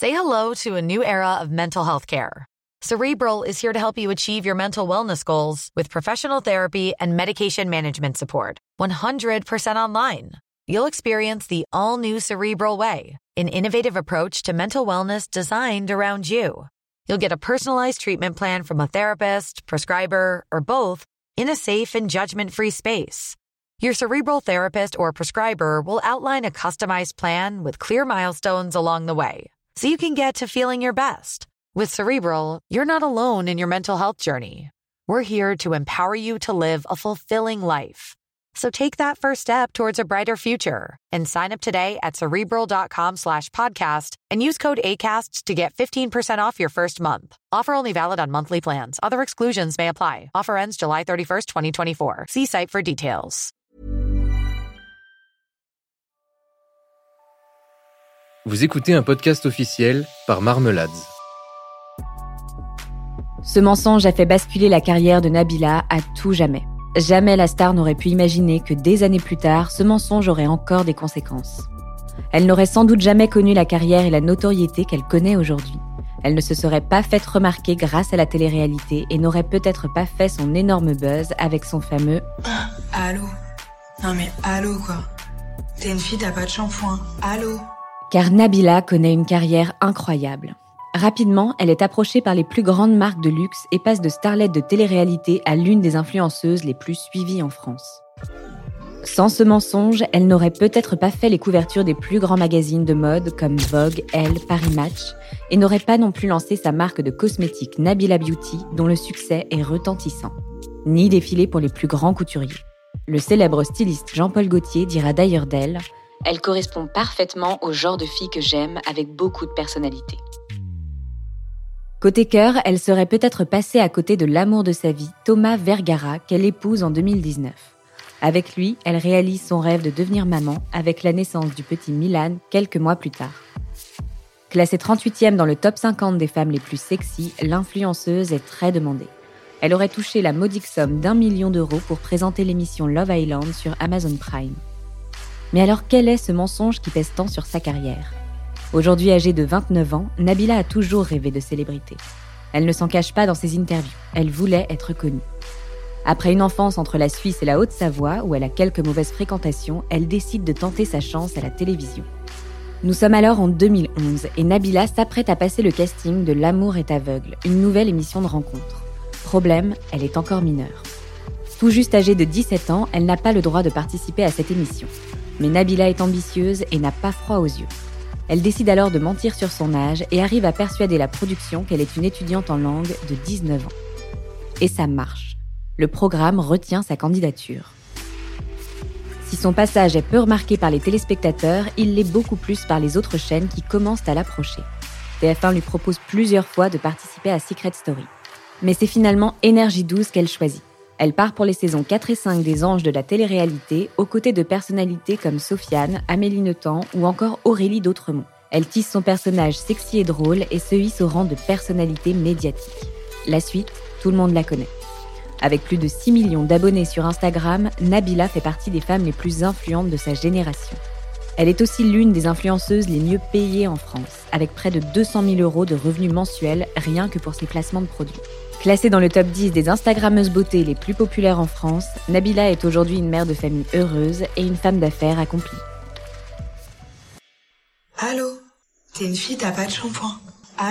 Say hello to a new era of mental health care. Cerebral is here to help you achieve your mental wellness goals with professional therapy and medication management support. 100% online. You'll experience the all-new Cerebral Way, an innovative approach to mental wellness designed around you. You'll get a personalized treatment plan from a therapist, prescriber, or both in a safe and judgment-free space. Your Cerebral therapist or prescriber will outline a customized plan with clear milestones along the way, so you can get to feeling your best. With Cerebral, you're not alone in your mental health journey. We're here to empower you to live a fulfilling life. So take that first step towards a brighter future and sign up today at Cerebral.com/podcast and use code ACAST to get 15% off your first month. Offer only valid on monthly plans. Other exclusions may apply. Offer ends July 31st, 2024. See site for details. Vous écoutez un podcast officiel par Marmelades. Ce mensonge a fait basculer la carrière de Nabila à tout jamais. Jamais la star n'aurait pu imaginer que des années plus tard, ce mensonge aurait encore des conséquences. Elle n'aurait sans doute jamais connu la carrière et la notoriété qu'elle connaît aujourd'hui. Elle ne se serait pas faite remarquer grâce à la télé-réalité et n'aurait peut-être pas fait son énorme buzz avec son fameux « Allô ? Non mais allô quoi ? T'es une fille, t'as pas de shampoing. Allô ?» Car Nabila connaît une carrière incroyable. Rapidement, elle est approchée par les plus grandes marques de luxe et passe de starlette de télé-réalité à l'une des influenceuses les plus suivies en France. Sans ce mensonge, elle n'aurait peut-être pas fait les couvertures des plus grands magazines de mode comme Vogue, Elle, Paris Match, et n'aurait pas non plus lancé sa marque de cosmétiques Nabila Beauty, dont le succès est retentissant. Ni défilé pour les plus grands couturiers. Le célèbre styliste Jean-Paul Gaultier dira d'ailleurs d'elle « Elle correspond parfaitement au genre de fille que j'aime, avec beaucoup de personnalité ». Côté cœur, elle serait peut-être passée à côté de l'amour de sa vie, Thomas Vergara, qu'elle épouse en 2019. Avec lui, elle réalise son rêve de devenir maman avec la naissance du petit Milan quelques mois plus tard. Classée 38e dans le top 50 des femmes les plus sexy, l'influenceuse est très demandée. Elle aurait touché la modique somme d'1 million d'euros pour présenter l'émission Love Island sur Amazon Prime. Mais alors quel est ce mensonge qui pèse tant sur sa carrière ? Aujourd'hui âgée de 29 ans, Nabila a toujours rêvé de célébrité. Elle ne s'en cache pas dans ses interviews, elle voulait être connue. Après une enfance entre la Suisse et la Haute-Savoie, où elle a quelques mauvaises fréquentations, elle décide de tenter sa chance à la télévision. Nous sommes alors en 2011 et Nabila s'apprête à passer le casting de L'amour est aveugle, une nouvelle émission de rencontre. Problème, elle est encore mineure. Tout juste âgée de 17 ans, elle n'a pas le droit de participer à cette émission. Mais Nabila est ambitieuse et n'a pas froid aux yeux. Elle décide alors de mentir sur son âge et arrive à persuader la production qu'elle est une étudiante en langue de 19 ans. Et ça marche. Le programme retient sa candidature. Si son passage est peu remarqué par les téléspectateurs, il l'est beaucoup plus par les autres chaînes qui commencent à l'approcher. TF1 lui propose plusieurs fois de participer à Secret Story. Mais c'est finalement Énergie 12 qu'elle choisit. Elle part pour les saisons 4 et 5 des Anges de la télé-réalité, aux côtés de personnalités comme Sofiane, Amélie Nothomb ou encore Aurélie d'Autremont. Elle tisse son personnage sexy et drôle et se hisse au rang de personnalité médiatique. La suite, tout le monde la connaît. Avec plus de 6 millions d'abonnés sur Instagram, Nabila fait partie des femmes les plus influentes de sa génération. Elle est aussi l'une des influenceuses les mieux payées en France, avec près de 200 000 € de revenus mensuels rien que pour ses placements de produits. Classée dans le top 10 des Instagrammeuses beauté les plus populaires en France, Nabila est aujourd'hui une mère de famille heureuse et une femme d'affaires accomplie. Allô ? T'es une fille, t'as pas de shampoing. Allô ?